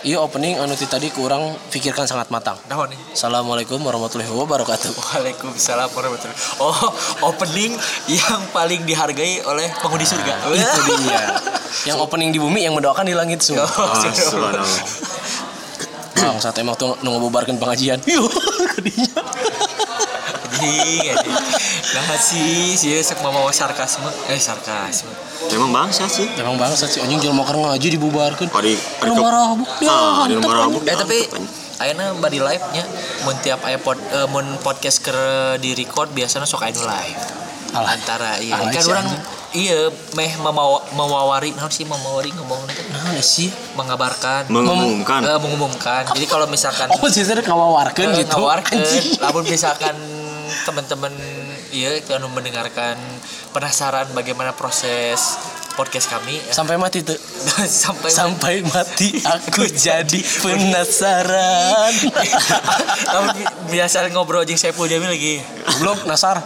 Iya opening anu ti tadi kurang pikirkan sangat matang. Naon nih? Assalamualaikum warahmatullahi wabarakatuh. Waalaikumsalam warahmatullahi. Oh, opening yang paling dihargai oleh penghuni surga. Itu dia. Yang opening di bumi yang mendoakan di langit semua. Subhanallah. Bang, saat emang tuh ngebubarkan pengajian. Yuh, kadinya. Nah sih sek mau sarkasme. Sarkasme. Emang bangsa sih. Emang bangsa sih anjing jelema keur ngaji dibubarkeun. Anu marah bu. Anu marah bu. Tapi ayeuna body live nya mun tiap aya podcast keur di record biasanya sok anu live. Antara iya kan urang iya meh mewawari naon sih mewawari ngomongna teh. Naon sih? Mengumumkan. Jadi kalau misalkan sih teh ngawawarkeun gitu. Lamun misalkan teman-teman iya anu mendengarkan penasaran bagaimana proses podcast kami sampai mati tuh. sampai mati aku jadi penasaran. Biasa ngobrol jeung Saiful Jamil lagi. Belum nasar.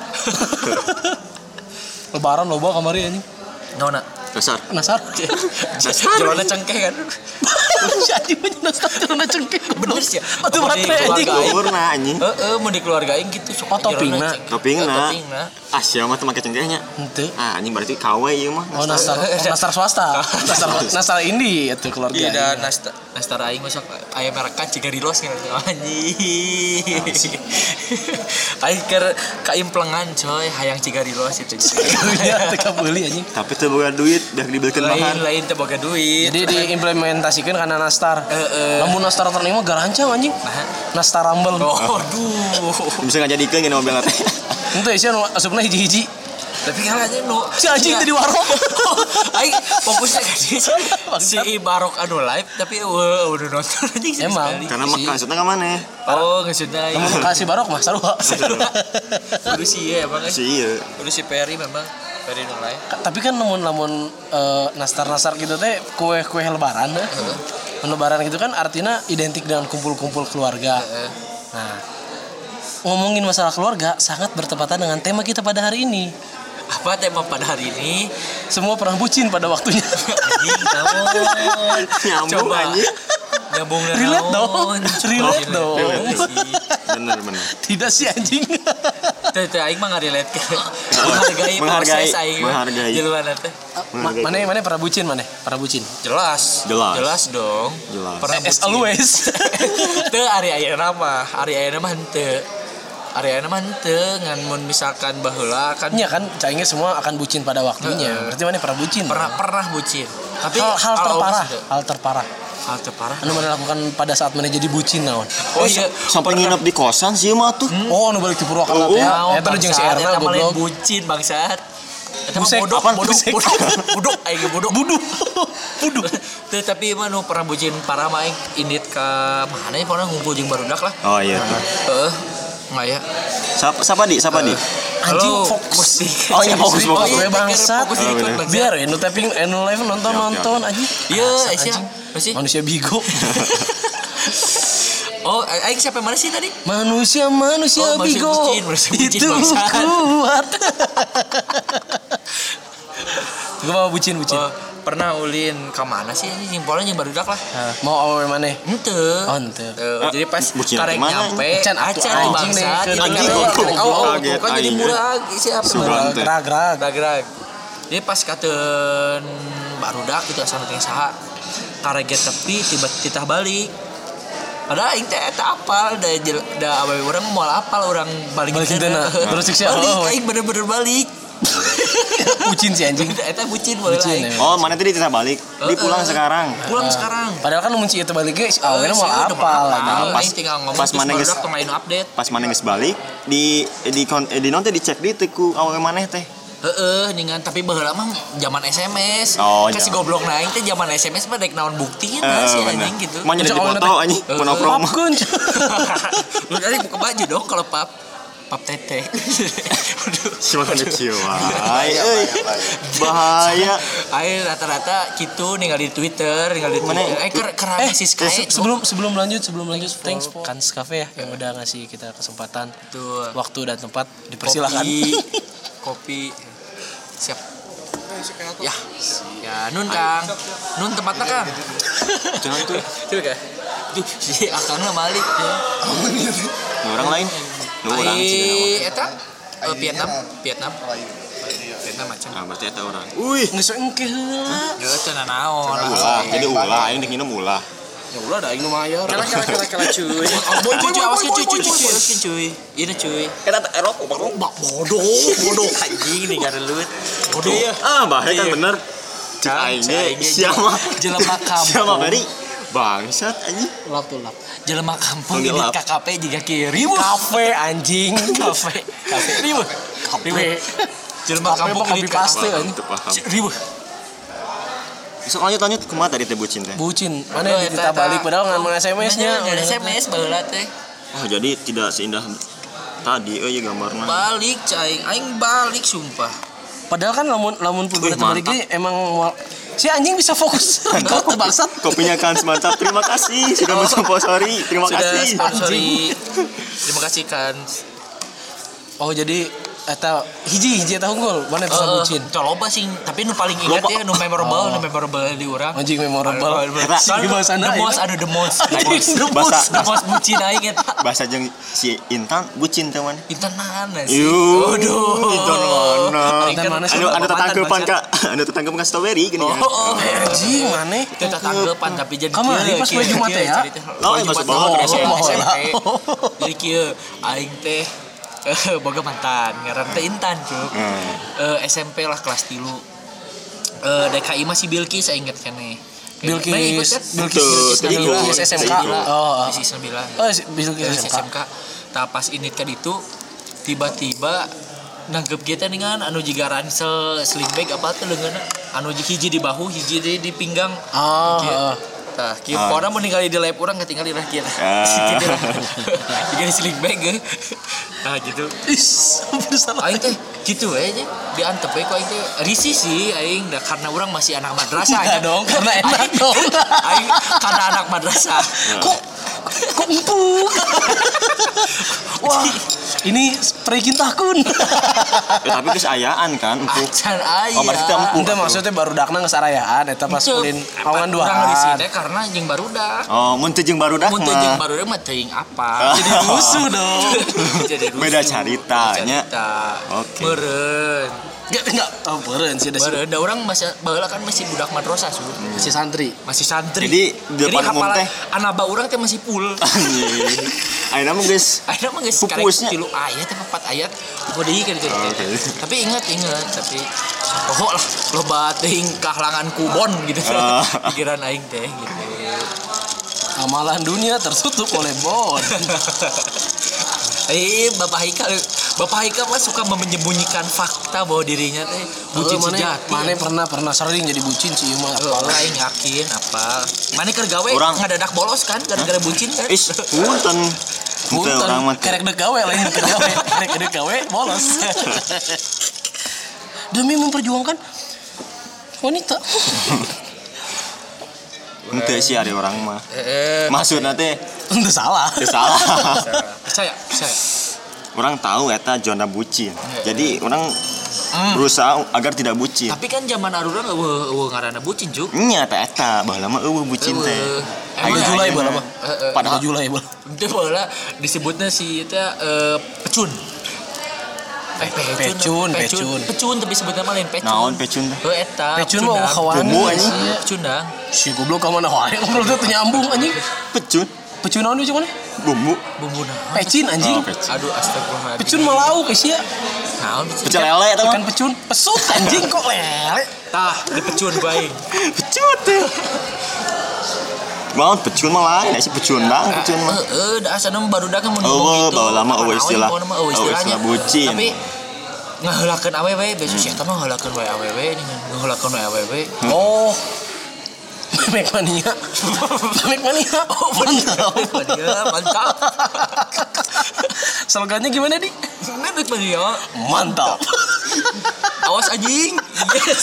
Lebaran loba kamari anjing. Naonna? Nasar. Jelona cengkeh kan. Si anjing mah nasar jelona cengkeh. Bener sih. Atuh matre anjing. Umurna anjing. Mun di keluarga aing gitu sok topingna. Sia mah teu make cengkehnya. Henteu. Anjing berarti KW ieu mah. Oh nasar swasta. Nasar indi atuh keluarga. Iya dan nastar aing mah sok aya merekan Cigarilos anjing. Aing keur kaimplengan coy hayang Cigarilos itu. Iya teu kabeuli anjing. Tapi teu boga duit dah dibelikeun mahar. Lain teu boga duit. Jadi diimplementasikeun kana nastar. Lamun nastar teuing mah garancang anjing. Nastar rambel. Aduh. Bisa ngajadikeun geus mobil teh. Henteu sia nu asupna hiji-hiji. Tapi kan aja nu si anjing tadi warok. Aing fokusnya kan si Barok anu live tapi udah nonton anjing sih. Emang karena maksudnya ka maneh. Oh, maksudnya kamu kasih Barok mah sarua. Udah sih ya emang. Udah si Perry memang Perry nu live. Tapi kan lamun nastar-nastar gitu teh kue-kue lebaran deh. Lebaran gitu kan artinya identik dengan kumpul-kumpul keluarga. Nah, ngomongin masalah keluarga sangat bertepatan dengan tema kita pada hari ini. Apa tema pada hari ini? Semua pernah bucin pada waktunya. Nyambung anjing. Nyambung relate dong. Bener. Tidak sih anjing. Teh aing mah relate ke. Menghargai proses aing. Jeluan teh. Mana pernah bucin mana? Pernah bucin. Jelas dong. Pernah bucin. As always. Teu ari ayeuna mah henteu. Areana mah henteu ngan mun misalkan baheula kan. Iya kan caingnya semua akan bucin pada waktunya. Berarti mana pernah bucin? Pernah bucin. Tapi hal terparah. Anu mana lakukan pada saat mana jadi bucin naon? Oh iya, sampai nginep di kosan sih mah tuh. Oh, anu balik di Purwakarta teh. Eta jeung si Erna goblok. Bucin bangsat. Eta bodoh aing bodoh. Tapi mah nu pernah bucin parah mah aing indit ka mana ya pernah ngumpul jeung barudak lah. Oh iya tuh. Enggak ya. Siapa di? Anjing fokus. Oh iya fokus. Gue bangsat. Biar ya nu tapping anu live nonton anjing. Iya, masih manusia bigo. Oh, aing siapa mana sih tadi? Manusia bigo. Itu kuat. Gue mau bucin. Pernah ulin ke mana sih ini simpolnya yang barudak lah. Mau awe maneh? Henteu. Jadi pas karek nyampe acan bangsat kan jadi murah siapa grag. Jadi pas kateun barudak itu asal teh saha karege tepi tiba-tiba balik. Padahal aing teh eta apal da awewe urang moal apal urang balik teh. Terus sih aing bener-bener balik. Bucin sih anjing. Eta bucin boleh lah. Oh, mana tadi kita balik? Di pulang sekarang. Padahal kan munci itu balik ge awalnya mau apa? Pas tinggal ngomong pas mana geus update. Pas mana geus balik di non teh dicek di ku awal maneh teh. Dengan tapi baheula mah zaman SMS. Kasih goblok naing teh zaman SMS mah daek naon buktiin sih anjing gitu. Mah jadi foto anjing monokrom. Lu tadi buka baju dong kalau pap teteh. Siapa kecil bahaya. Ayo rata-rata gitu ninggal di Twitter. Sebelum lanjut thanks Kans Cafe ya yang udah ngasih kita kesempatan. Betul. Waktu dan tempat dipersilakan. Kopi siap. Ya. Ya nun Kang. Nun tempatnya Kang. Jangan tuh. Coba Kang. Tuh si Akangna balik ya. Orang lain. Orang sih. Eta Vietnam macam. Ah berarti eta orang. Wih, Geus engke heula. Ya cenah naon. ulah. Jadi ulah aing dek minum ulah. Ya ulah da aing nu mayar. Kala cuy. Cuy awas cuy. Ini cuy. Eta erok Bodoh. Anjing nih garelut. Bodoh. Ah, bahaya kan bener. Aing siapa? Jelema Siapa kampung. bari? Bangsat anjing. Lap tuh lap. Jelema kampung Panggil ini lap. KKP juga kirim. Kafe anjing. Kafe ribu. Kafe. Jelema kampung kopi ini paste Paham, anjing. teu paham. ribu. Sok lanjut kumaha tadi teh bucin teh. Bucin. Mana ditita balik padahal ngan SMS-nya. Ada SMS baheula teh. Oh, jadi tidak seindah tadi euy gambarna. Balik cai aing balik sumpah. Padahal kan lamun pulbana balik mantap. ge emang si anjing bisa fokus. Kau terbaksat. Kopinya kan mantap. Terima kasih sudah mensponsori. Terima Sudah kasih. sponsori. Terima kasih kan. Oh jadi eta hiji eta unggul. Mana bisa bucin. Loba sih, tapi nu paling ingat ya nu memorable di urang. Anjing memorable. Si bahasana. the most. Bahasa- The most bucin aing eta. Bahasa jeung si Intan bucin teh man. Intan mana sih? Yuh. Aduh. Intan mana? Intan mana sih? Anu tetangkepan Kak. Anu tetangkepan strawberry gini kan. Anjing maneh. Kita tanggapan tapi jadi Kamu hari pas poe Jumat teh ya? Oh, iya, maksud banget, SMP. Jadi kieu aing teh boga mantan ngaran teh Intan cuk. SMP lah kelas 3. DKI masih Bilqis saya ingat keneh. Bilqis SMK. Oh, di 9. Oh, Bilqis SMK. Tah pas init ka ditu tiba-tiba nangkep kita dengan anu jiga ransel sling bag apa tuh leungeunna anu hiji di bahu hiji di pinggang. Tah, kieu pona mun ningali di live urang tinggal di kieu. Gitu lah. Digali sling bag. Nah gitu. Hampir salah. Aing teh gitu aja diantep we ku aing teh risih sih aing da karena urang masih anak madrasah Enggak dong, karena enak dong. Aing karena anak madrasah. Kok empuk. Wah, ini perikin tahun. Tapi geus ayaan kan empuk. Acan aya. Oh, berarti teh empuk. Ente maksudnya baru dakna geus arayaan eta pas kulin awangan Urang di duaan. sini karena jeung barudak. Oh, mun teu jeung barudak Mun teu jeung mah. barudak mah teuing apa? Jadi musuh dong. Jadi rusuh. Beda caritanya. Oke. Meureun. Enggak, beureun sih da Meureun da urang masih baheula kan masih budak madrasah su. masih santri. Masih santri. Jadi di depan umum hafalan teh. anaba urang teh masih full. Anjing. Ayeuna mah geus Akhirnya mah guys pupusnya. 3 ayat atau 4 ayat kode kan gitu. Oke. Tapi ingat tapi pokok lah loba teuing kahlangan kubon gitu. Pikiran aing teh gitu. Amalan dunia tertutup oleh bon. Bapak Haikal mah suka menyembunyikan fakta bahwa dirinya teh bucin sejati. Mana pernah sering jadi bucin sih mah. Apalagi aing yakin apa. Mana keur gawe Orang- ngadadak bolos kan gara-gara bucin kan. Is, punten. Punten orang mah. Kerek dek gawe lain kerek gawe. Kerek dek gawe bolos. Demi memperjuangkan wanita. Henteu sih ada orang mah. Maksudna teh Itu salah. teu salah. Percaya. Orang tahu eta zona bucin. Jadi orang berusaha agar tidak bucin. Tapi kan zaman arurang eueuh ngaranna bucin juk. Nya eta baheula mah eueuh bucin teh. Ada Julai baheula mah. Padahal Ada Julai baheula. Itu baheula disebutnya si eta pecun. Pecun tapi sebutnya mah lain pecun. naon pecun teh? Eta. Pecun mah kawan. Bumbu anjing. Pecundang. Si goblok ka mana wae ngobrol teh nyambung anjing. Pecun, Pecun naon cuman? bumbu. Bumbu naon? Pecin anjing. Oh, pecun. Aduh astagfirullahaladzim. Pecun mah lauk sia. Naon? Pecel lele eta mah. Ikan pecun, pesut anjing kok lele. Tah, di pecun bae. Pecun teh. Mau pecun mah lain, si pecundang pecun mah. Da asana barudak mun Eueuh, baheula mah eueuh istilah. Eueuh istilahnya. Bucin. Tapi ngaheulakeun awewe beso si eta mah ngaheulakeun we awewe ngaheulakeun we awewe. Oh. Memek mania. Memek mania. Oh, mantap. Mantap. Slogannya gimana, Di? Memek mania. Mantap. Awas anjing. Yes.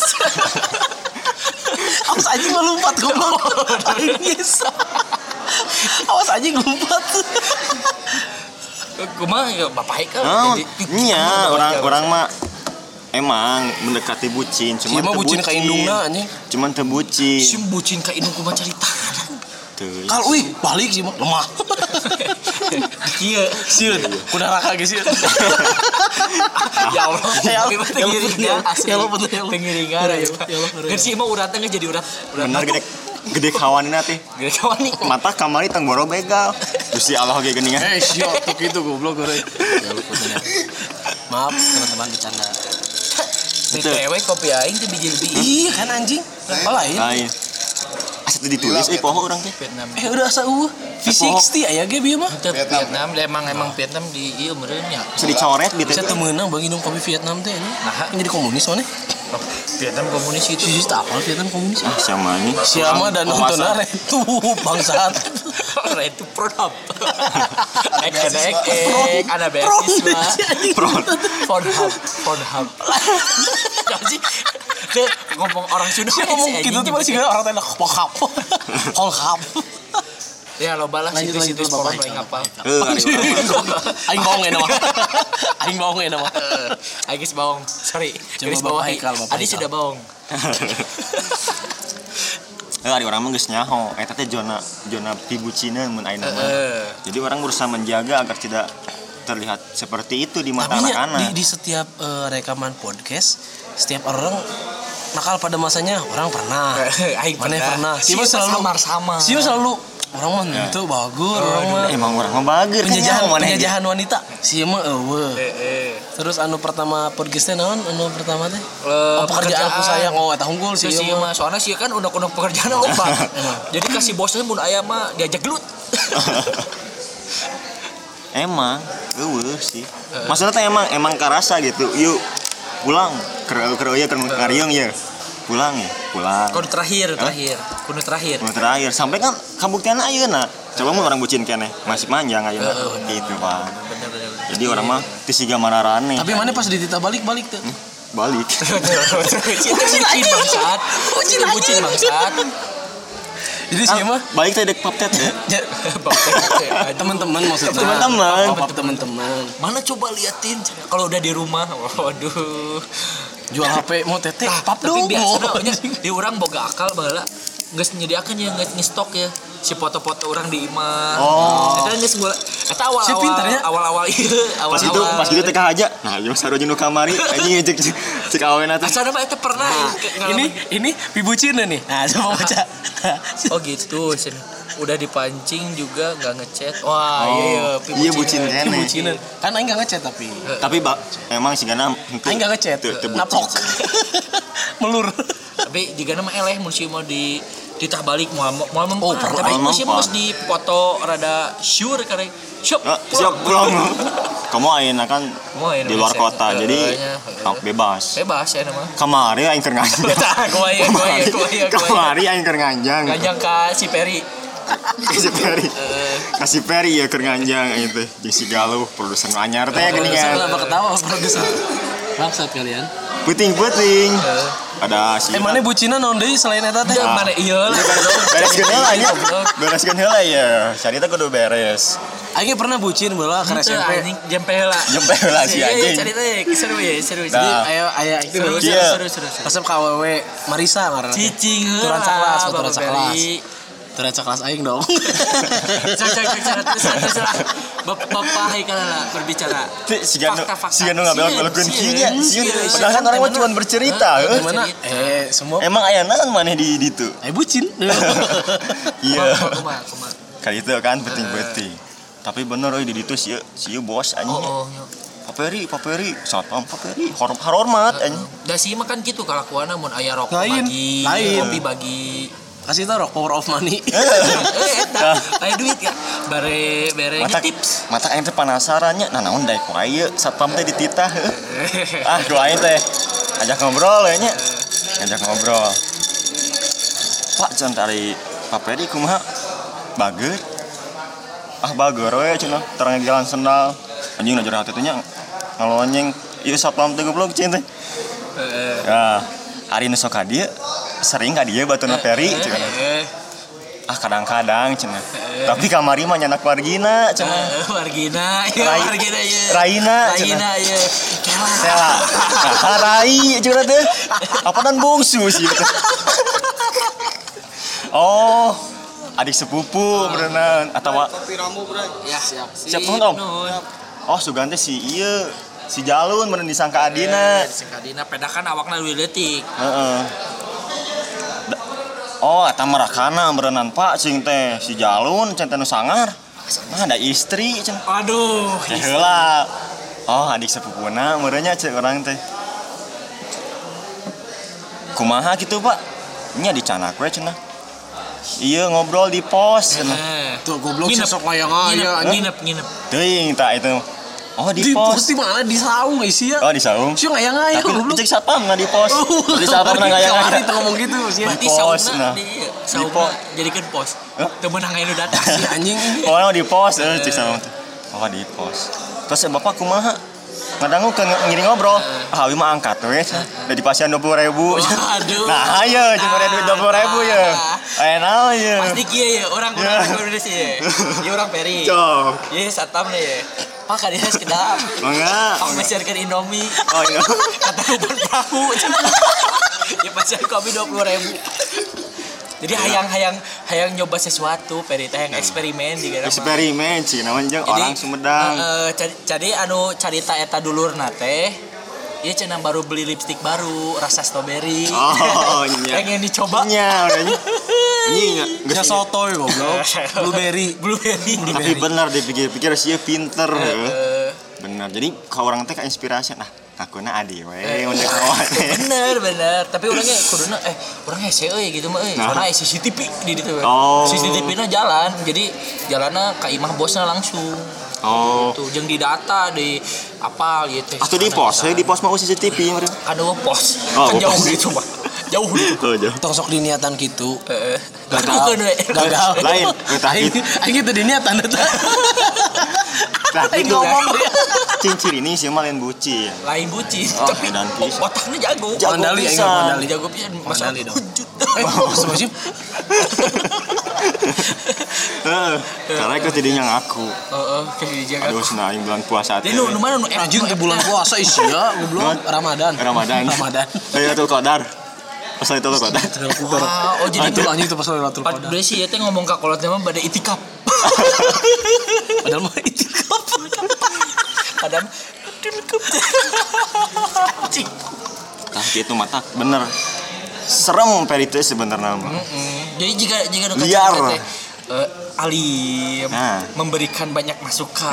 Awas anjing melompat goblok. Yes. Awas anjing lompat. Kumaha ya Bapak Haikal Naon? jadi Nya orang mah emang mendekati bucin, cuman teu bucin ka indungna anjing. Cuman teu bucin. Si bucin ka indung kumaha carita. Teu. Kal balik sih mah lemah. Kieu, sieun. Kuda raka ge sieun. Ya Allah. Ya Allah pengiringan. Ya Allah pengiringan. Kan si mah uratna geus jadi urat. Bener gede kawanina teh. Gede kawani. Mata kamari tang boro begal. Gusti Allah ge geuningan. Siap tuh gitu goblok goreng. Ya lupa bener. Maaf teman-teman bercanda. Cewek kopi aing teh biji-biji. Iya kan anjing. Lain. Asa teu ditulis poho urang teh. Vietnam. Udah asa V60 aya ge bieu mah. Vietnam emang Vietnam di ieu meureun nya. Bisa dicoret gitu. Bisa teu meunang bang minum kopi Vietnam teh ini. Nah, jadi komunis mana? Vietnam komunis itu. Si tak apa Vietnam komunis. Sama nih. Siapa dan nonton itu bangsat. Itu Pornhub. Ada beasiswa. Pornhub. Kasih ngomong orang Sunda ngomong gitu tuh masih orang tanya Pornhub. Ya lo balas situs porno aing hafal. Aing bohong ya nama. Aing bohong ya nama. Aing geus bohong. Sorry. Garis bawah Adi sudah bohong. Ari orang mah geus nyaho eta teh zona pibucineun mun ayeuna mah. Jadi orang berusaha menjaga agar tidak terlihat seperti itu di mata anak-anak. Di setiap rekaman podcast, setiap orang nakal pada masanya orang pernah. Mana pernah. Siapa selalu sama. Siapa selalu orang mah itu bagus, orang mah emang orang mah bager penjajahan wanita. Siapa mah eueuh. Terus anu pertama podcastnya naon anu pertama teh? Pekerjaanku sayang eta unggul sih mah. Soalnya sih kan unek-unek pekerjaan loba. Jadi kasih bosnya mun aya mah diajak gelut. Emang eueuh sih. Maksudnya teh emang karasa gitu. Yuk pulang keur ieu keur ngariung ye. Pulang. Kudu terakhir. Sampai kan kabuktian ayeuna. Coba mun orang bucin keneh, masih panjang ayeuna. Gitu, Pak. Bener. Jadi orang mah teu siga mararane. Tapi mana pas dititah balik tuh. Balik. Bucin bangsat. Jadi sih mah balik teh dek paptet ya. Teman-teman maksudnya. Teman-teman. Mana coba liatin kalau udah di rumah. Waduh. Jual HP mau teteh pap dong. Tapi biasanya di orang boga akal baheula geus nyediakeun ya geus ngestok ya si foto-foto orang di imah. Eta geus eta awal-awal ieu. Pas gitu teh ka haja. Nah, ieu saru jeung nu kamari anjing cek awena teh. Asana mah eta pernah. Ini pibucina nih. Nah, coba baca. Oh gitu, udah dipancing juga nggak ngechat. Wah iya bucin kene. Kan aing nggak ngechat tapi emang sih karena aing nggak ngechat. Naplok. Melur. Tapi jika nama eleh mun mau ditah balik mau tapi masih mau di foto rada sure karek. Siap pulang. Kamu ayeuna kan di luar kota jadi bebas ya nama. Kamari aing keur nganjang. Kamari aing keur nganjang. Nganjang ka si Peri. Kasih Peri ya keur nganjang itu jeung si Galuh produser anyar teh geuningan. Kenapa ketawa produser? Bangsat kalian. Puting. Ada si mana bucina naon deui selain eta teh? Mana ieu lah. Bereskeun heula ya. Carita kudu beres. Aing pernah bucin baheula ka SMP. Jempe heula si anjing. Carita seru. Jadi aya itu seru. Pasep ka awewe Marisa ngaranna. Cicing heula. Turan kelas. Teraca kelas aing dong. Terus Bapak haikala berbicara. Siga nu ngabelok-belokeun kieu nya. Padahal kan orang mah cuma bercerita. Gimana? Semua emang aya naon maneh di ditu? Bucin. Iya. Kali itu kan penting-penting. Tapi bener euy di ditu si bos anjing. Paperi, satpam paperi, hormat anjing. Da si mah kan kitu kalakuanna mun aya rokok bagi, kopi bagi. Kasih tau power of money. Aya duit ya. Bare tips. Mata aing teh penasarannya. Nah naon daek wae satpam teh dititah. Ku aing teh ajak ngobrol we nya. Pak can tari paperi kumaha? Bager. Bager we cenah terang jalan sendal. Anjing najar hati teh nya ngalonyeng ieu satpam teh goblok cing teh. Ya, ari nu sok ka dieu sering ka dieu batuna Peri cenah. Kadang-kadang cenah. Tapi kamari mah nyanak Wargina cenah. Wargina ya. Raina ya. Sela. Nah, Rai cenah teh. Apa dan bungsu sih teh. Oh, adik sepupu berenang atau kopi rambu bray. Ya, siap. siap Om. Oh, sugan teh si ieu si Jalun meureun disangka adina. Disangka adina pedakan awakna leutik. Heeh. Oh, eta merakana berenang Pak cing teh si Jalun cen teh nu sangar. Nah, ada istri cen. Aduh, heula. Oh, adik sepupuna meureun nya ceuk urang teh. Kumaha kitu, Pak? Nya dicanak we cenah. Iya ngobrol di pos. Tuh goblok sosok layang aya nginep. Teuing tak itu. Oh di pos. Di mana di saung isi ya. Oh di saung. Sio ngayang-ngayang goblok. Tapi cek satpam enggak di pos. Di satpam nang ngayang-ngayang. Kita ngomong gitu sih. Berarti saungna di pos. Jadikeun pos. Teu meunang aya nu datang si anjing. Oh di pos cek saung. Oh di pos. Terus bapak kumaha? Ngadangu ke ngiring ngobrol. Ah, awi mah angkat we. Da dipasihan 20.000. Aduh. Nah, ayo cuma duit 20.000 ya. Enak ya. Pasti kieu ya orang Indonesia ya. Ieu orang Peri. Cok. Ieu satpam nih ya. Pak kadieu sekedap. Mangga. Pak mesirkeun Indomie. Oh iya. Kata hubun perahu. Ya pasien kopi 20.000. Jadi hayang nyoba sesuatu, Peri teh hayang eksperimen di eksperimen sih namanya orang Sumedang. Jadi anu carita eta dulurna teh ieu cenah baru beli lipstik baru rasa strawberry. Oh iya. Pengen dicoba. Nya urang. Nya geus sotoy goblok. Blueberry. Tapi benar dipikir-pikir sih pinter. Benar. Jadi kalau orang teh ka inspirasi nah takuna adi we mun kawan. Bener. Tapi orangnya kuduna urang hese euy gitu mah euy. Soalna aya CCTV di ditu. CCTV-na jalan. Jadi jalanna ka imah bosna langsung. Oh. Tuh jeung di data di apa gitu. Atuh di pos mah CCTV meureun. Aduh pos. Kan jauh gitu mah. Jauh gitu. Oh, jauh. Tong sok diniatan gitu. Gagal. Lain, Aing gitu diniatan eta. Tapi ngomong dia. Cincin ini sih mah lain bucin. Lain bucin. Oh, Tapi dan pisan. otaknya jago. Mandali aing mandali. Jago pisan. Mandali dong. Masuk. Karena itu jadinya ngaku. Kayak dijaga. Aduh, senang aing bulan puasa teh. Ini nu mana nu Anjing di bulan puasa isi ya, goblok. Ramadan. Lailatul Qadar. Pas Lailatul Qadar. Oh jadi itu anjing itu pas Lailatul Qadar. Padahal sih ya teh ngomong ka kolot mah bade itikaf. Padahal mah itikaf. Padahal anjing. Tah kitu mata bener. Serem Peri teh sebenarnya mah. Jadi jika liar teh alim, memberikan banyak masukan,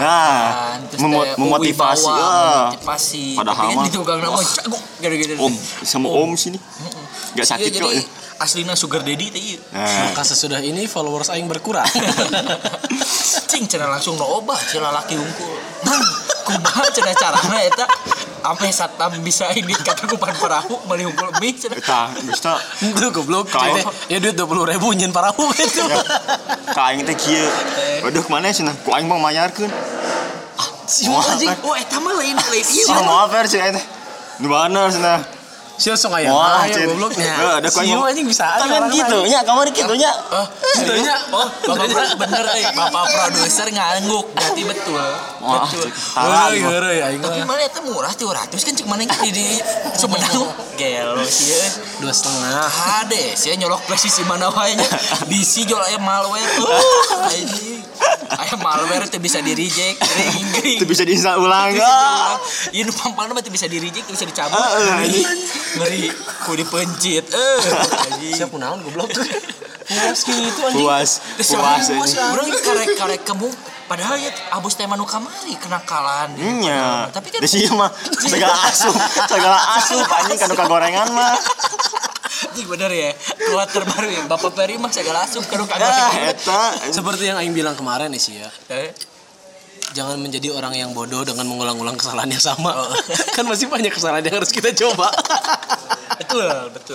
memotivasi. Padahal mah itu kang nama jago gara-gara om sama om sini nggak sakit kok. Jadi aslinya sugar daddy teh ieu. Maka sesudah ini followers aing berkurang. Cing cenah langsung no obah cenah laki unggul. Kumaha cenah carana eta sampai satpam bisa ini kata kupan perahu meuli unggul mie cenah. Eta bisa itu goblok. Ya duit 20.000 nyen perahu gitu. Ka aing teh kieu. Waduh mana cenah ku aing mah mayarkeun. Si anjing. Oh eta mah lain ieu. Sama apa sih eta? Nu bener cenah. Sia sok aya gobloknya. Ada ku anjing bisa aja. Kan gitu nya, kamar kitu nya. Gitunya. Oh, Bapak bener Bapak produser ngangguk, berarti betul. Betul. Heureuy aing. Tapi mana eta murah 200 kan cek mana di Sumedang. Gelo sih. 2,5. Hade, sia nyolok presisi mana wae nya. Bisi jual aya malware. Anjing. Aya malware teh bisa di reject, ring. Teu bisa diinstal ulang. Ieu nu pampalna mah teu bisa di reject, teu bisa dicabut. Ngeri ku dipencit. Siap kunaon goblok. Puas gitu anjing. Puas. Urang karek kamu padahal ya abus teh manu kamari kenakalan. Nya. Tapi kan di mah segala asup anjing kanu kagorengan mah. Anjing bener ya. Kuat terbaru ya. Bapak Peri mah segala asup kanu kagorengan. Eta seperti yang aing bilang kemarin sih ya. Jangan menjadi orang yang bodoh dengan mengulang-ulang kesalahan yang sama. Kan masih banyak kesalahan yang harus kita coba. Betul.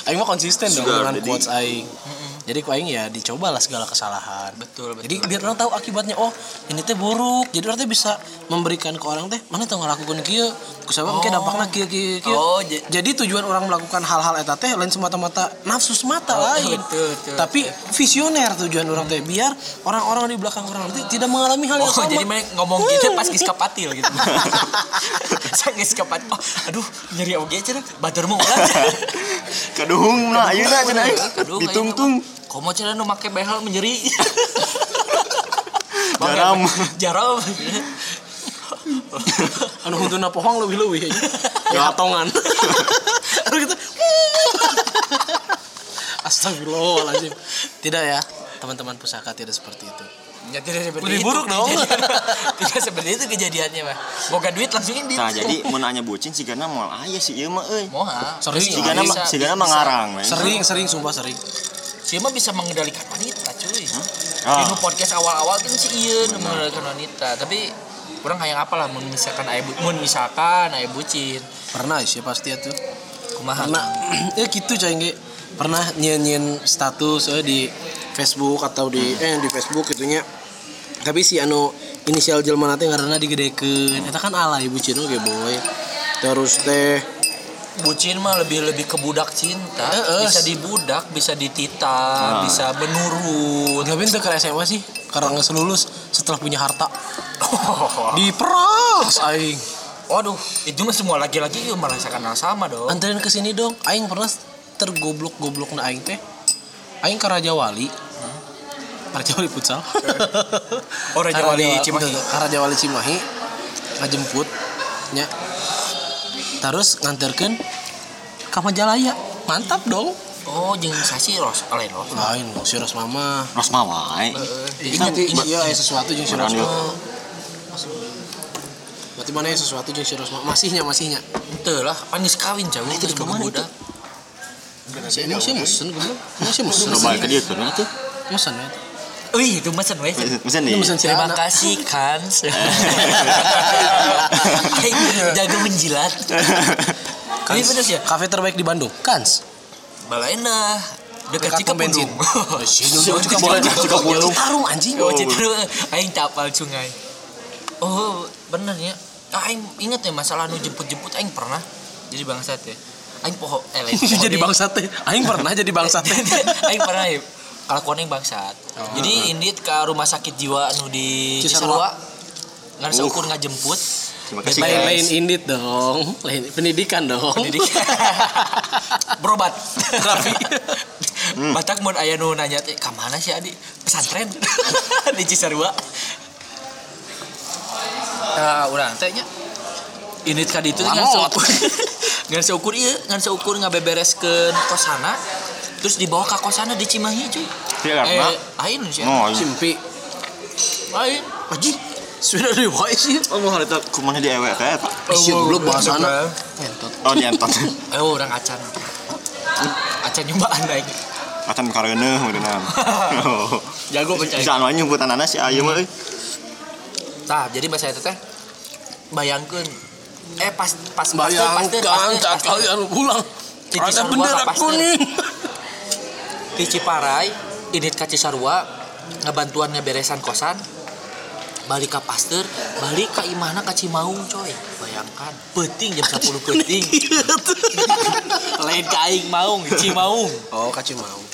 Aing mah konsisten dong dengan quotes aing. Jadi ku aing ya dicobalah segala kesalahan. Betul. Jadi biar orang tahu akibatnya, oh ini teh buruk. Jadi orang teh bisa memberikan ke orang teh, mana teu ngelakukeun kieu. Kusabab mungkin dampakna kieu. Jadi tujuan orang melakukan hal-hal eta teh lain semata-mata nafsu semata lain. Betul. Tapi visioner tujuan orang teh biar orang-orang di belakang orang teh tidak mengalami hal yang sama. Jadi ngomong gitu pas geus kapatil gitu. Saya geus kapatil. Oh, aduh nyeri oge cenah. Batur mah ulah. Kaduhung na ayeuna cenah. Ditungtung. Komo cenah nu make behel menyeri. Jaram. Anu huntuna pohong leuwih-leuwih ya hatongan. Anu gitu. Astagfirullahaladzim. Tidak ya, teman-teman pusaka tidak seperti itu. Ya tidak seperti lebih itu. Buruk dong. Tidak seperti itu kejadiannya mah. Boga duit langsung indit. Nah, jadi mun anya bucin sigana moal aya si ieu mah euy. Moha. Sigana mah ngarang we. Sering sumpah sering. Si mah bisa mengendalikan wanita cuy. Di podcast awal-awal kan si ieu mengendalikan wanita, tapi kurang hayang apalah mun misalkan aya bucin. Pernah sih pasti atuh. Kumaha? Pernah. Ya gitu cai ge. Pernah nyen status di Facebook atau di Facebook gitunya. Tapi si anu inisial jelema teh ngaranna digedekeun. Eta kan alay bucin oge boy. Terus teh bucin mah lebih ke budak cinta. Bisa dibudak, bisa ditita, bisa menurut. Tapi teu ke SMA sih, karena geus lulus setelah punya harta. Diperas aing. Waduh, itu mah semua laki-laki juga merasakan hal sama dong. Anterin ke sini dong. Aing pernah tergoblok-goblokna aing teh. Aing ke Raja Wali. Raja Wali futsal. Oh, Raja Wali Cimahi. Raja Wali Cimahi ngajemput nya. Terus nganterkeun ka Majalaya. Mantap dong. Oh, jeung sasi lain. Lain, si Rosma mah. Rosma wae. Ingat iya sesuatu jeung si Rosma. Berarti mana sesuatu jeung si Rosma? Masihnya. Henteu lah, pan geus kawin jauh itu di budak. Si mesen goblok. Si mesen. Coba ke dia kan atuh. Mesen ya. Wih, itu mesen we. Mesen nih. Terima kasih kan. Jago menjilat. Ini bener sih ya. Kafe terbaik di Bandung, Kans. Balaina dekat Cikapundung. Cikapundung. Tarum anjing. Oh, Citarum. Aing tapal sungai. Oh, bener ya. Aing inget ya masalah nu jemput-jemput aing pernah jadi bangsat ya. Aing poho jadi bangsat teh. Aing pernah jadi bangsat teh. Aing pernah ya. Kalakuan yang bangsat. Jadi indit ke rumah sakit jiwa anu di Cisarua. Ngan seukur ngajemput. Terima kasih guys. Lain indit dong. Lain pendidikan dong. Berobat. Rapi. Batak mun aya nu nanya teh, "Ka mana sih Adi?" Pesantren. Di Cisarua. Urang teh nya. Indit ka ditu ngan seukur ngabebereskeun kosana. Terus dibawa ke kosana di Cimahi cuy. Ain sih. Cimpi. Ain. Aji. Sudah dibawa sih. Oh, mau harita kumaha di ewe teh eta. Isi belum bahasana. Entot. Oh, di entot. Orang acan. Acan nyumbaan daeng. Acan kareuneuh meureunna. Jago percaya. Bisa anu nyebutannana si ayeuna mah euy. Tah, jadi bahasa eta teh bayangkeun pas bayangkan kalian pulang. Ada bendera kuning. Di Ciparai, indit ka Cisarua, ngabantuan ngeberesan kosan, balik ka Pasteur, balik ka imahna ka Cimaung coy. Bayangkan, peuting jam 10 peuting. Lain ka aing Maung, Cimaung. Oh, ka Cimaung.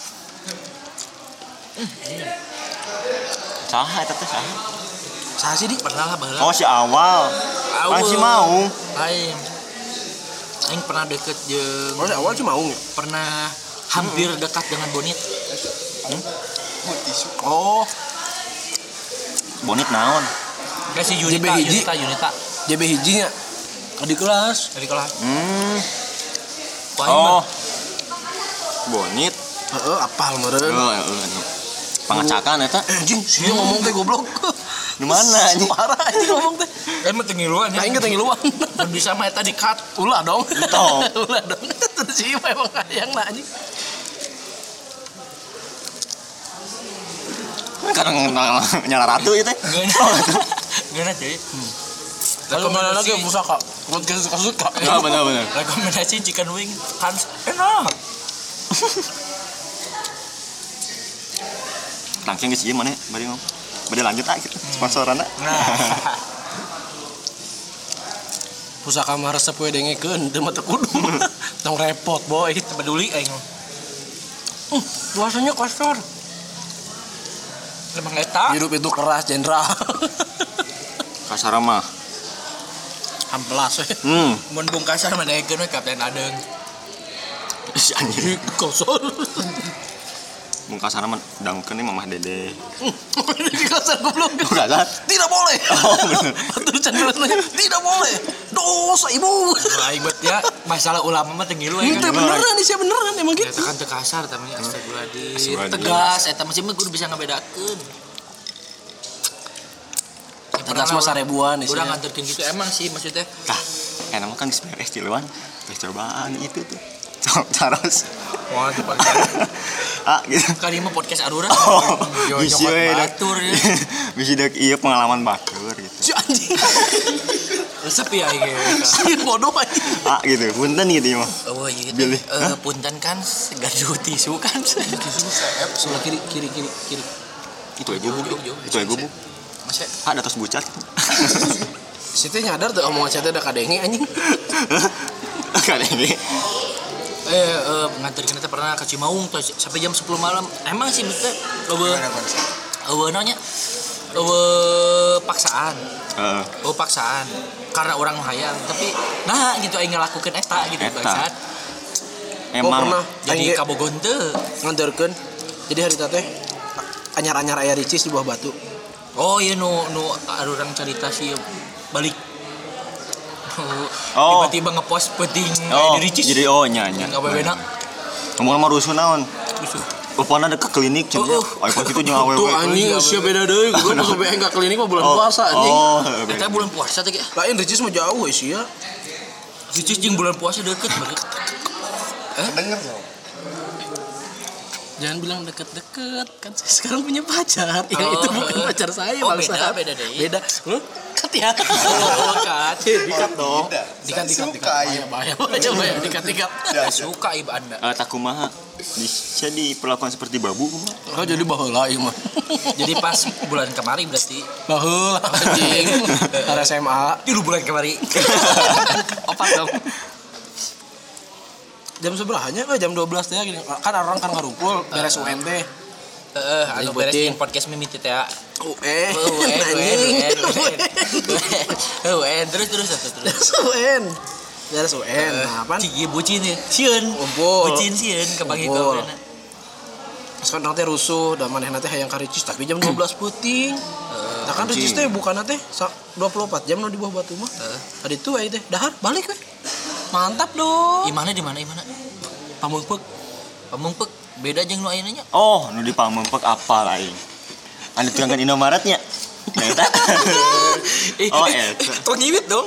Saha eta teh saha? Saha sih di? Pernah lah baheula. Oh, si awal. Cimaung. Aing pernah deket jeung awal Cimaung ya? Pernah hampir dekat dengan Bonit. Oh. Bonit naon? Enggak si Yunita. JB hijinya. Di kelas. Oh. Bonit. Heeh, apal meureun. Pangacakan eta. Anjing, sieun ngomong teh goblok. Di mana anjing? Parah anjing ngomong teh. Mah teu ngiluan ya. Aing teh ngiluan. Mun bisa mah eta di-cut. Ulah dong. Ulah dong. Terus sih emang hayangna anjing. Kadang nyala ratu ieu teh. Geuna cuy. Lalu mana lagi pusaka? Podcast suka. Ya benar. Rekomendasi chicken wing Hans enak. Langsung geus ieu maneh bari ngomong. Bari lanjut ah gitu. Sponsoranna. Pusaka mah resep we dengekeun teu mah teu kudu. Tong repot boy. Teu peduli aing. Puasanya kasar. Emang eta Hidup itu keras jenderal. Kasar mah. Amplas we. mun bung kasar mah daekeun we Kapten Adeng. Si anjing. Kasar. Bung kasar mah dangkeun ieu Mamah Dede. Kasar goblok. Kasar. Tidak boleh. Oh bener. Atur cenderungnya tidak boleh. Dosa ibu. Aing bet ya masalah ulama mah teu ngilu we Itu kan. beneran sih beneran emang gitu. Eta kan teu kasar tamanya astagfirullahaladzim. Astagfirullahaladzim. Tegas eta mah kudu bisa ngabedakeun. Tegas mah sarebuan sih. Urang nganterkeun gitu emang sih maksudnya. Tah, enak mah kan geus beres tiluan. Teh cobaan itu tuh. Caros. Wah, itu Gitu. kali mah podcast Arura. Bisi we batur ya. Bisi dek ieu pengalaman batur gitu. Si anjing. Resep ya ieu. Si bodoh aja. Gitu. Punten gitu mah. Oh iya gitu. Bilih. Punten kan gaduh tisu kan. Tisu saya sebelah kiri. Itu ego bubuk. Itu ego bubuk. Masih Ada tos bucat. Situ nyadar tuh omongan saya ada kadenge anjing. Kadenge. nganterin kita pernah ke Cimaung tuh sampai jam 10 malam. Emang sih maksudnya nanya paksaan. Paksaan karena orang hayang tapi nah gitu aing ngelakukeun eta gitu bangsat. Emang pernah Jadi kabogon teu nganterkeun. Jadi hari teh anyar-anyar aya ricis di bawah batu. Oh iya nu urang cerita sih balik. Tiba-tiba ngepost penting di ricis. Jadi nya. Enggak bebena. Ngomong sama rusuh naon? Rusuh. Upana deket klinik cenah. Ai pas kitu jeung awewe. Tuh anjing sia beda deui. Gua pas sampai enggak klinik mah bulan puasa anjing. Eta bulan puasa teh ya. Lain ricis mah jauh sia. Ricis jeung bulan puasa deket banget. Denger loh. Jangan bilang deket-deket, kan saya sekarang punya pacar. Ya itu bukan pacar saya, bangsa. Beda deh. Beda. Kat ya. Kat. Dikat dong. Dikat. Bahaya. Dikat. Suka ibu Anda. Tak kumaha bisa diperlakukan seperti babu kumaha. Oh jadi baheula ieu mah. Jadi pas bulan kemarin berarti Baheula anjing. Ada SMA. Dulu bulan kemarin. Opat dong. Jam seberapanya? Jam 12 teh gini. Kan orang kan ngarumpul beres UN teh. Anu beresin podcast mimiti teh. UN terus. UN. Beres UN. Nah, apaan? Cigi bucin ya. Sieun. Bucin sieun kepanggih kawanna. Pas kan teh rusuh da manehna teh hayang ka ricis tapi jam 12 peuting. Nah kan ricis teh bukan teh 24 jam nu di bawah batu mah. Tadi tuh teh dahar balik we. Mantap dong. Di mana? Pamungpek. Beda jeung nu ayeuna nya. Oh, nu di Pamengpek apal aing. Anu tukang Indomaretnya. Eta. Oh, eta. Tong nyiwit dong.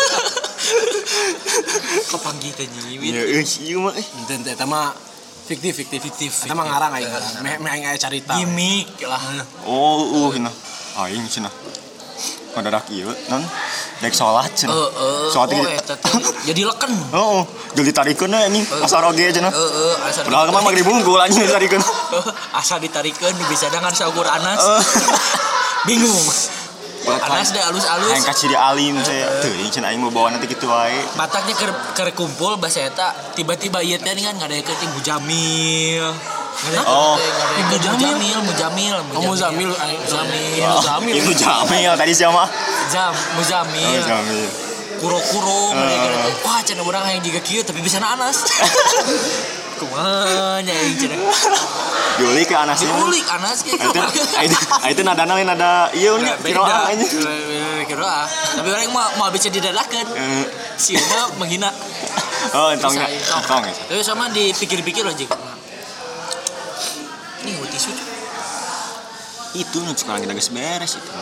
Kepanggih teh nyiwit. Ya ieu mah Enten teh eta mah fiktif. Eta mah ngarang aing. Meh aing aya carita. Gimik lah. Oh, cenah. Aing cenah. Mendadak ieu non dek salat cenah. Salat eta teh jadi leken. Heeh, geus ditarikeun we anjing. Pasar oge cenah. Asa Padahal mah magrib bungkul anjing ditarikeun. Asa ditarikeun bisa dengan saukur Anas. Bingung. Anas deh alus-alus. Aing ka ciri alim saya. Teuing cenah aing mau bawa nanti kitu wae. Bataknya keur kumpul bahasa eta tiba-tiba ieu teh kan ngadekeun Ibu Jamil. Ibu Jamil tadi siapa? Muzamil. Kuro-kuro mereka. Wah, cenah urang hayang jiga kieu tapi bisa Anas. Kumaha nya ieu cenah. Diulik ke Anas. Diulik Anas kieu. Itu nadana lain nada ieu nya kiroah aja. Kiroah. Tapi orang mau bisa didadakeun. Sieun mah menghina. Oh, entong ya. Tapi sama dipikir-pikir aja. Ini tisu itu nu sekarang kita geus beres itu.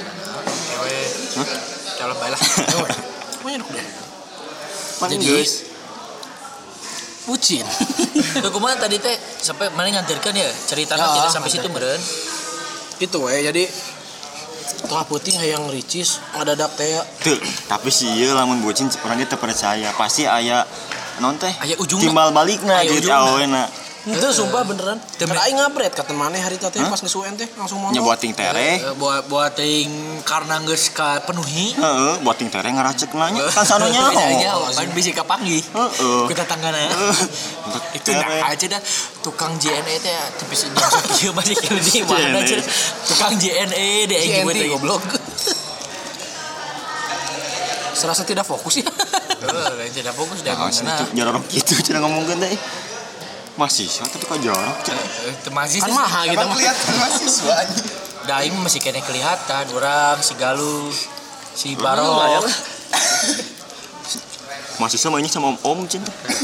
Kalau baiklah. Pokoknya duk deh. Jadi bucin. Tuh kumaha tadi teh sampai mana nganterkeun ya ceritana tidak sampai situ meureun. Itu we jadi tengah puting hayang ricis ngadadak teh. Tuh, tapi sih ieu lamun bucin urang teh teu percaya. Pasti aya naon teh? Aya ujungna. Timbal balikna gitu awena. Itu sumpah beneran. Kan aing ngabret kata maneh hari teh pas geus UN teh langsung mono. Nya buating tere. Buating karena geus kapenuhi. Heeh, buating tere ngaracek nanya. Kan sanunya kan bisi kapanggih. Ku tetanggana. Itu nah aja dah tukang JNE teh tapi jam sakieu masih kieu di mana aja. Tukang JNE deh aing goblok. Serasa tidak fokus ya. Tidak fokus dah. Jarang gitu cara ngomongkeun teh. Mahasiswa tapi kok jorok mahasiswa kan mahal gitu kelihatan mahasiswa anjing daing masih kena kelihatan orang si Galuh si Barok mahasiswa mainnya sama om cinta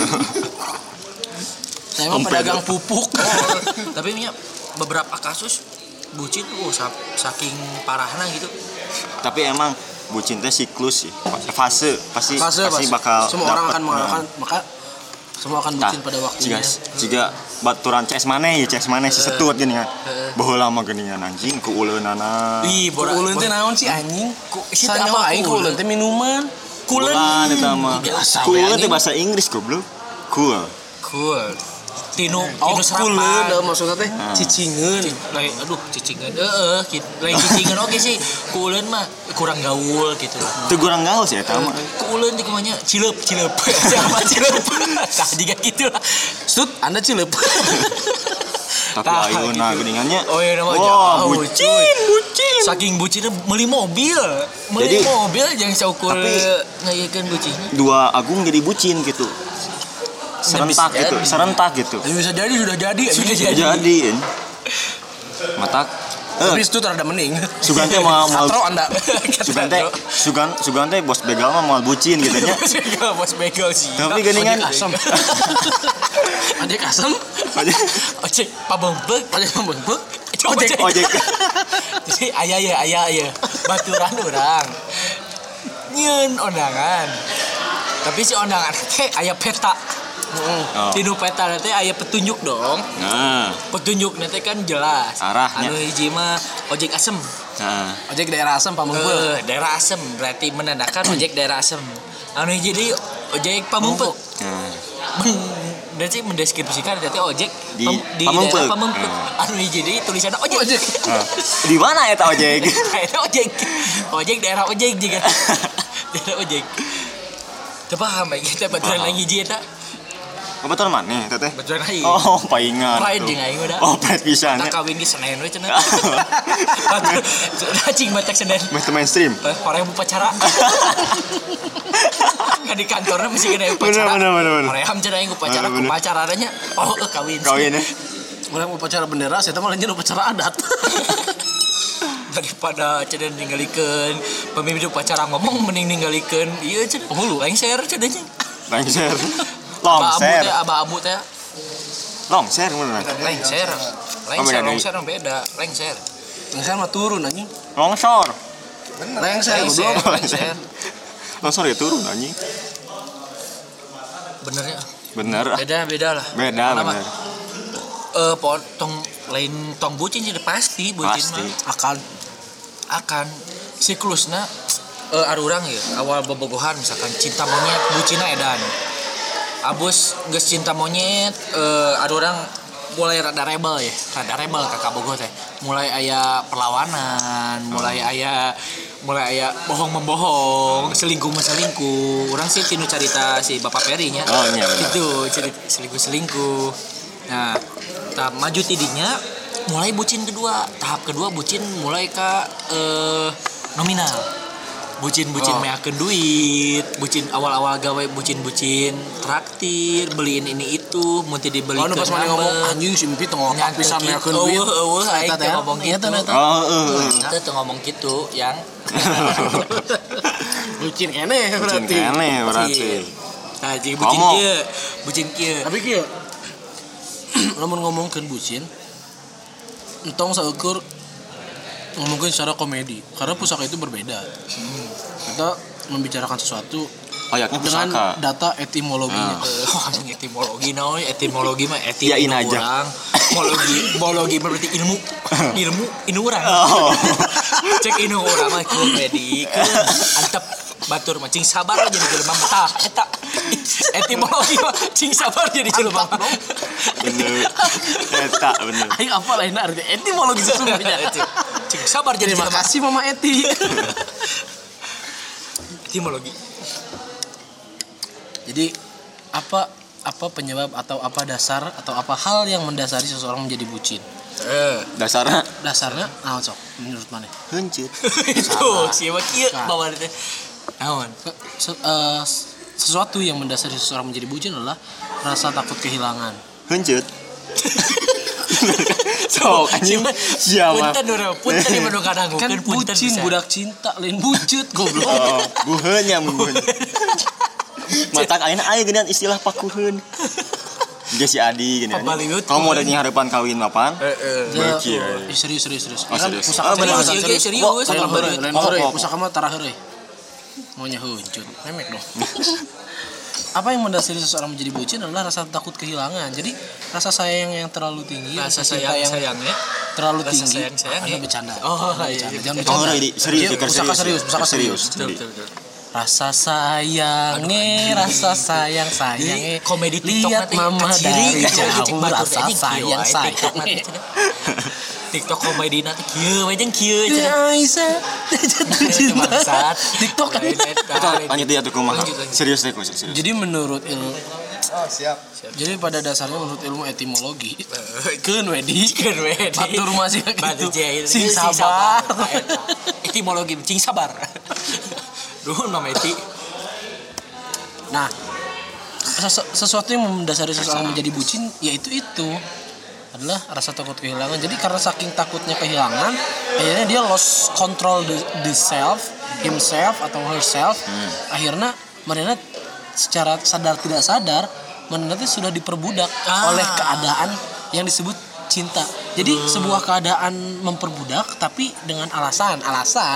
saya mah pedagang pupuk tapi beberapa kasus bucin saking parahnya gitu tapi emang bucin teh siklus sih fase pasti bakal semua orang akan mengalami maka semua akan bucin pada waktunya. Jika baturan CS maneh si setut gini kan. Baheula mah geuningan anjing ku uleunana. Ku uleun teh naon sih anjing? Sanya mah aing ku uleun teh minuman. Kuleun eta mah. Ku uleun teh bahasa Inggris goblok. Cool. Tinu serapan maksudnya teh cicingeun. Aduh cicingeun. Lain cicingeun oke sih. Ku uleun mah kurang gaul gitu. Teu kurang gaul sih eta mah. Ku uleun teh kumanya cileup. Siapa cileup? Tah juga gitu lah. Stut, Anda cileup. Tapi ayeuna geuningannya. Oh iya nama jauh. Bucin. Saking bucinnya meuli mobil jangan saukur ngayekeun bucinnya. Dua agung jadi bucin gitu. Serentak gitu. Bisa sudah jadi. Matak. Tapi itu terada mending. Sugante mau Katro Anda. Sugante bos begal mah mau bucin gitu nya. Bos begal sih. Tapi geuningan asam. Ojek asam. Ojek pabembek. Ojek. Jadi aya. Baturan orang. Nyeun ondangan. Tapi si ondangan teh aya peta. Tinu peta nanti aya petunjuk dong. Nah, petunjuk nanti kan jelas. Arahnya. Anu hiji mah ojek asem. Nah, ojek daerah asem Pamumpul. Daerah asem berarti menandakan ojek daerah asem. Anu hiji di ojek Pamumpul. Berarti mendeskripsikan berarti ojek di daerah Pamumpul. Anu hiji di tulisannya ojek. Di mana eta ojek? Eta ojek. Ojek daerah ojek juga. Daerah ojek. Teu paham kita baturan lagi hiji eta. Betul mana teteh? Betul aing. Oh, paingan. Pride jeung aing udah. Oh, pride pisan. Kita kawin di Senen we cenah. Sudah cing batak Senen. Mainstream. Hoream upacara. Kan di kantornya masih kena upacara. Bener. Hoream cenah aing upacara nya kawin. Kawin ya. Orang upacara bendera, saya malah nyen upacara adat. Daripada cenah ninggalikeun pemimpin upacara ngomong mending ninggalikeun ieu cenah. Hulu lengser cenah nya. Lengser. Longser. Abu teh. Longser bener. Lengser beda. Lengser mah turun anjing. Longsor. Bener. Lengser goblok. Longsor ya turun anjing. Bener ya? Bener. Beda lah. Bener. Potong lain tong bucin jadi pasti bucin mah. Akan siklusna ada orang ya awal bobogohan misalkan cinta monyet bucina edan. Abus geus cinta monyet ada orang mulai rada rebel kakak bogoh teh. Mulai aya perlawanan, mulai aya bohong-membohong, selingkuh. Urang sih tinu carita si Bapak Peri nya. Oh iya. Itu cerita selingkuh. Nah, tahap maju tidinya mulai bucin kedua. Tahap kedua bucin mulai ka nominal. Bucin meakeun duit, bucin awal-awal gawe bucin traktir, beliin ini itu, mun teu dibelikeun. Pas mana ngomong anjing si Mimpi teu ngomong pisan meakeun duit. Aing teu ngomong gitu. Teu ngomong gitu yang bucin keneh berarti. Nah, jadi bucin kieu. Tapi kieu lamun ngomongkeun bucin entong saukur ngomongin secara komedi karena pusaka itu berbeda. Kita membicarakan sesuatu dengan data etimologinya. Etimologi mah yain aja. Biologi berarti ilmu orang. Cek inu urang mah komedi. Antep batur mancing sabar aja di gerbang betah eta. Etimologi mah cing sabar jadi jelema. Bener. Eta bener. Aing apa lain arti etimologi sesungguhnya. Cing sabar jadi Terima jelema. kasih Mama Eti. Etimologi. Jadi apa penyebab atau apa dasar atau apa hal yang mendasari seseorang menjadi bucin? Dasarnya Naon sok menurut mana? heuncit. Itu siapa kieu bawa teh. Naon? Sesuatu yang mendasari seseorang menjadi bucin adalah rasa takut kehilangan. Heuncit. Sok anjing siapa? Punten di mana kadang Kan bucin budak cinta lain bucut goblok. Oh, guheun nya mun. Matak ayeuna aya geunan istilah pakuheun. Ge si Adi gini. Kamu mau nyi harapan kawin mapan? Beuki. Serius. Oh, serius. Pusaka serius. Pusaka mah tara heureuy. Maunya heuncun. Memek dong. Apa yang mendasari seseorang menjadi bucin adalah rasa takut kehilangan. Jadi rasa sayang yang terlalu tinggi, rasa sayangnya terlalu rasa tinggi. sayang-sayangnya. Anda bercanda. Oh, iya. Jangan Oh, bercanda. serius. Pusaka serius. Betul. Rasa sayangnya, rasa sayangnya. Komedi TikTok lihat nanti mama kaciri, dari jauh rasa sayang. TikTok komedi nanti kieu we jeung kieu Aisyah jatuh cinta. TikTok kan. Lanjut dia tuh kumaha. Serius deh, serius. Jadi menurut ilmu siap. Jadi pada dasarnya menurut ilmu etimologi keun wedi batur masih gitu. Sing sabar. Etimologi cing sabar. Duh nama eti. Nah, sesuatu yang mendasari seseorang menjadi bucin yaitu itu adalah rasa takut kehilangan. Jadi karena saking takutnya kehilangan, akhirnya dia lost control the self, himself atau herself. Akhirnya mereka secara sadar tidak sadar mereka sudah diperbudak oleh keadaan yang disebut cinta. Jadi sebuah keadaan memperbudak tapi dengan alasan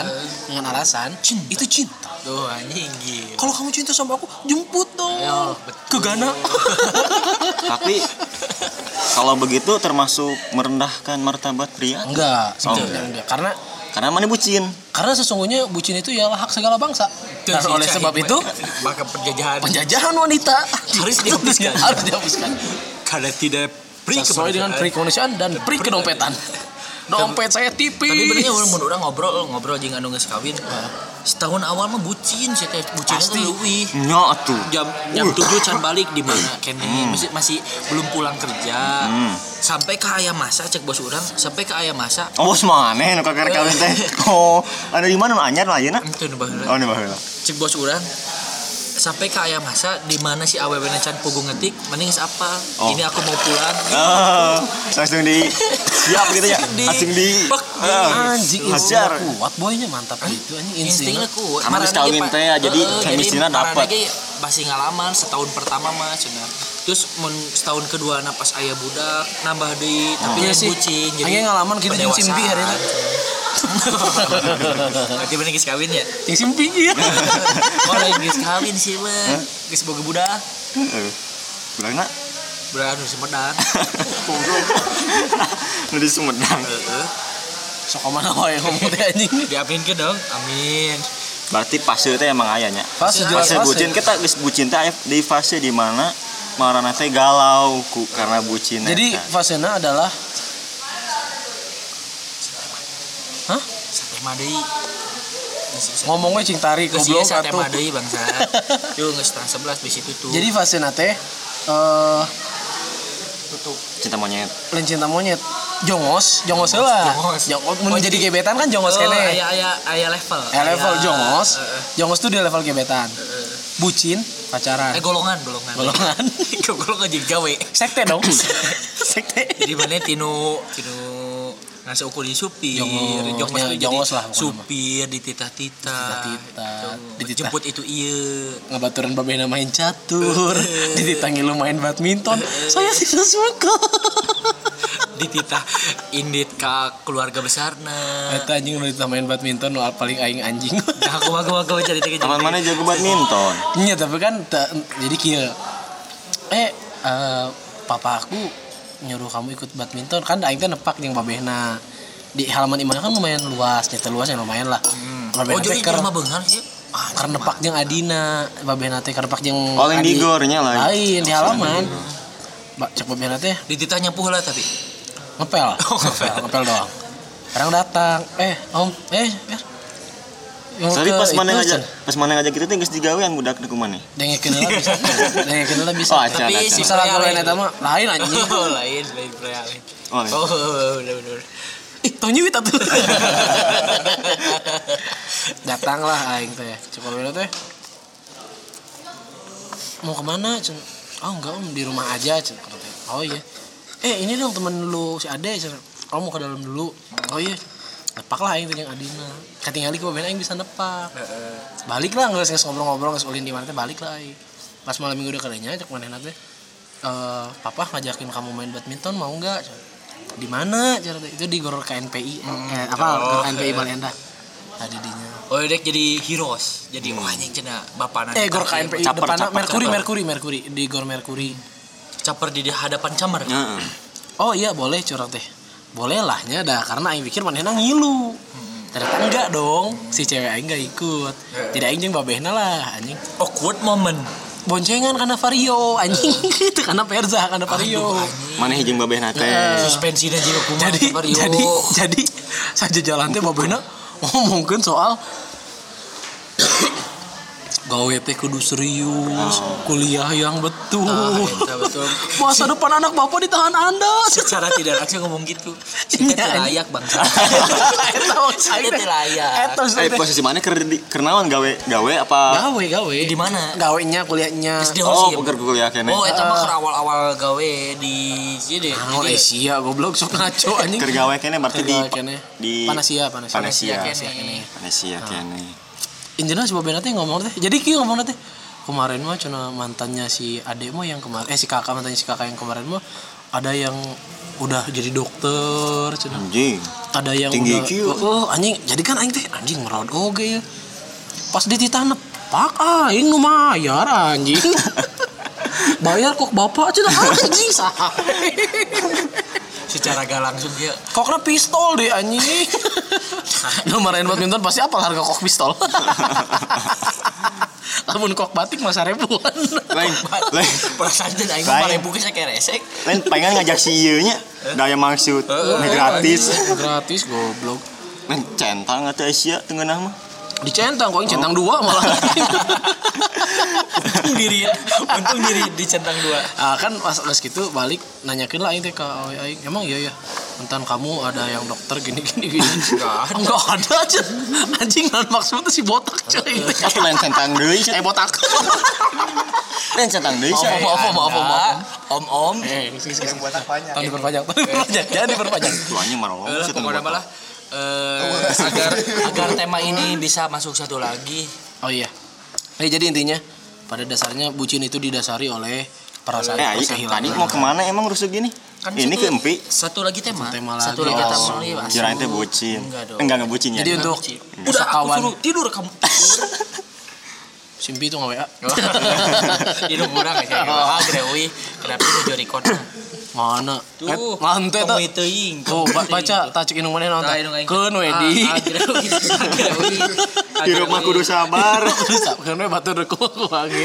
itu cinta. Tuh anjing gila. Kalau kamu cinta sama aku, jemput dong. Ke Ghana. Tapi kalau begitu termasuk merendahkan martabat pria? Enggak, sebenarnya enggak. Karena mana bucin? Karena sesungguhnya bucin itu ialah hak segala bangsa. Dan oleh sebab itu, maka penjajahan wanita harus dihapuskan. Karena tidak sesuai dengan pri kemanusiaan dan pri kedompetan. Dompet saya tipis. Tapi benernya orang ngobrol jeung anu geus kawin. Setahun awal mah bucin, sih teh bucin pasti leuwih. Nya atuh. Jam 7 can balik di mana kene masih belum pulang kerja. Sampai ke aya masa cek bos urang, Oh, bos maneh nu kakek kawin teh. Oh, ada di mana nu anyar lah ayeuna? Itu nu baheula. Oh, nu baheula. Cek bos urang sampai ke aya masa di mana si awewena can pugu ngetik mending geus apal. Ini aku mau pulang. Langsung di siap gitu ya. Langsung di anjing hajar. Kuat boynya mantap gitu anjing instingnya kuat. Karena geus kawin teh jadi chemistry-na dapat. Basi ngalaman setahun pertama mah cenah. Terus mun setahun kedua pas aya budak nambah deui tapi bucin jadi ngalaman kitu jeung simpi harina. Berarti bener geus kawin ya? Jeung simpi ieu. Mulai geus kawin sih mah. Geus boga budak. Budakna budak nu Sumedang. Nu di Sumedang. Sok mana wae ngomong teh anjing. Diaminkeun dong. Amin. Berarti fase teh emang ayanya. Fase bucin kita geus bucin teh di fase di mana marana teh galau karena bucin. Jadi fasena adalah Sampai madei. Ngomongnya cing tarik goblok atuh. Sampai madei bangsa. Yo geus 11 di situ tuh. Jadi fasena teh tutup cinta monyet. Lain cinta monyet. Jongos heula. Mun jadi gebetan kan jongos kene. Aya level. Level jongos. Jongos tuh di level gebetan. Bucin pacaran. Golongan. Golongan jeung gawe. Sekte dong. Sekte. Jadi mana tinu nasi ukur di supir, jongos lah supir di tita-tita, dijemput itu ngabaturan babena main catur, dititangin lu main badminton, saya tidak suka. Dititah indit ka keluarga besarna. Eta anjing nu dititah main badminton nu paling aing anjing. Nah, aku cari teh. Teman mana jago badminton? Iya, tapi kan jadi kieu. Papa aku nyuruh kamu ikut badminton kan aing teh nepak jeung babehna. Di halaman imahna kan lumayan luas, luas yang lumayan lah. Oh, jadi mah beunghar sih. Karena pak jeung Adina, babena teh karena pak jeung yang di gornya lah. Lain di halaman. Mbak cek babena teh ditanya pula tapi ngepel doang. Orang datang, om, sorry pas mana ngajak kita teh geus digawean budak deku maneh. Dengekeun lah bisa. Tapi si salah gawean eta mah lain anjing. lain. Bener. Tong nyuwit atuh. Datanglah aing teh. Coba bener teh. Mau kemana? Enggak om, di rumah aja. Oh iya. Ini dong temen lu si Ade. Kamu mau ke dalam dulu. Oh iya. Nepak lah aing teh jeung Adina. Katingali ku aing bisa nepak. Balik lah geus ngobrol-ngobrol geus ulin di mana teh balik lah aing. Pas malam minggu udah kadanya cek manehna teh. Papa ngajakin kamu main badminton mau enggak? Di mana? Itu di Gor KNPI. Gor KNPI Balenda. Tadi dinya. Oh, dek jadi heroes. Jadi anjing cenah bapana. Gor KNPI depanna Mercury di Gor Mercury. Caper di hadapan camar. Oh iya boleh curang teh. Boleh lah nya dah karena aing pikir manehna ngilu. Ternyata enggak dong. Si cewek aing enggak ikut. Tidak aing jeung babehna lah anjing. Awkward moment. Boncengan karena Vario anjing. Itu karena Perza karena Vario. Maneh jeung babehna teh. Suspensi dan juga kumaha Vario. Jadi saja jalan teh babehna ngomongkeun soal gawe teh kudu serius, kuliah yang betul. Masa depan anak bapak ditahan Anda. Secara tidak langsung ngomong gitu. Kita layak bangsa. Kita layak. Posisi mana kernawan gawe apa? Gawe. Di mana? Gawenya kuliahnya. Bukan kuliah kene. Eta mah awal-awal gawe di ieu deh. Sia goblok sok ngaco anjing. Keur gawe kene berarti di Panasia kene. Injena si babena teh ngomong teh. Jadi kieu ngomong teh. Kemarin mah cenah mantannya si Ade mah yang kemarin si kakak mantannya si kakak yang kemarin mah ada yang udah jadi dokter cenah. Anjing. Ada yang tinggi udah anjing. Jadi kan aing teh anjing meraud oge ya. Pas dititanep pak aing nu mayar anjing. Bayar kok bapak cenah anjing saha. Secara gak langsung dia kokna pistol deh anjing. Nomarain badminton pasti apa harga kok pistol. Lamun kok batik masa ribuan. Lain perasaan dan aing mah ribu ge sakere resek. Lain pengen ngajak si ieu nya daya maksud gratis goblok. Men centang atuh Asia teu ngeunah mah. Dicentang kok centang 2 malah. Untung diri dicentang 2. Kan pas gitu balik nanyakeun lah aing teh ka aing. Emang iya ya. Entan kamu ada yang dokter gini. Enggak ada aja. Anjing naon maksudnya si botak coy. Tapi lain centang deui. Botak. Lain centang deui. Maaf. Om. Yang botak banyak. Tadi diperpanjang. Jangan diperpanjang. Tuanya marah. Pokoknya malah agar tema ini bisa masuk satu lagi. Oh iya. Jadi intinya pada dasarnya bucin itu didasari oleh perasaan kehilangan. Tadi mau kemana emang rusuk gini? Kan ini ke empi. Satu lagi tema. Satu lagi tema lagi. Kirain teh bucin. Enggak bucin ya. Jadi untuk udah aku suruh tidur kamu. Simpi itu nggak WA. Hidup murah kayak Grewi. Kenapa itu jori record? Mana? Tuh. Mantu eta. Tuh baca tacuk inung mana nonton. Keun we di. Di rumah kudu sabar. Keun we batur deku lagi.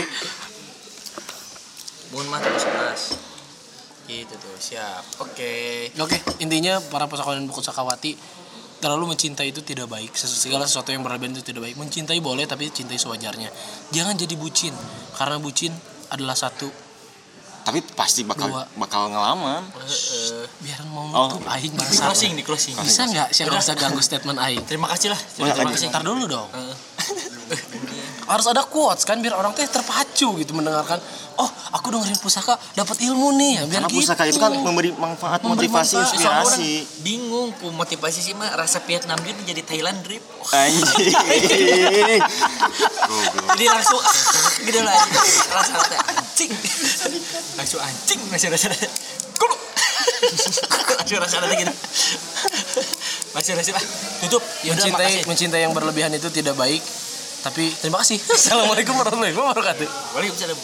Mun mah terus. Gitu tuh, siap. Oke, intinya para pusaka dan buku sakawati terlalu mencintai itu tidak baik. Segala sesuatu yang berlebihan itu tidak baik. Mencintai boleh tapi cintai sewajarnya. Jangan jadi bucin karena bucin adalah satu. Tapi pasti bakal ngelaman. Biar mau nutup aing di closing. Bisa enggak siapa bisa ganggu statement aing? Terima kasih lah. Terima kasih. Entar dulu dong. Harus ada quotes kan biar orang teh terpacu gitu mendengarkan. Oh, aku dengerin pusaka dapat ilmu nih. Biar karena gitu. Pusaka itu kan memberi manfaat, motivasi, inspirasi. Bingung ku motivasi sih mah rasa Vietnam drip jadi Thailand drip. Anjing. Jadi langsung gitu lah. Rasa anjing. Langsung anjing masih rasa. Kudu. Masih rasa gitu. Masih rasa. Tutup. Mencintai yang berlebihan itu tidak baik. Tapi terima kasih. Assalamualaikum warahmatullahi wabarakatuh. Waalaikumsalam.